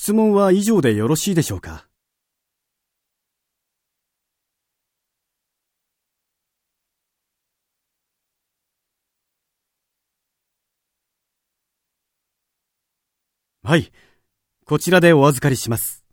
質問は以上でよろしいでしょうか。はい、こちらでお預かりします。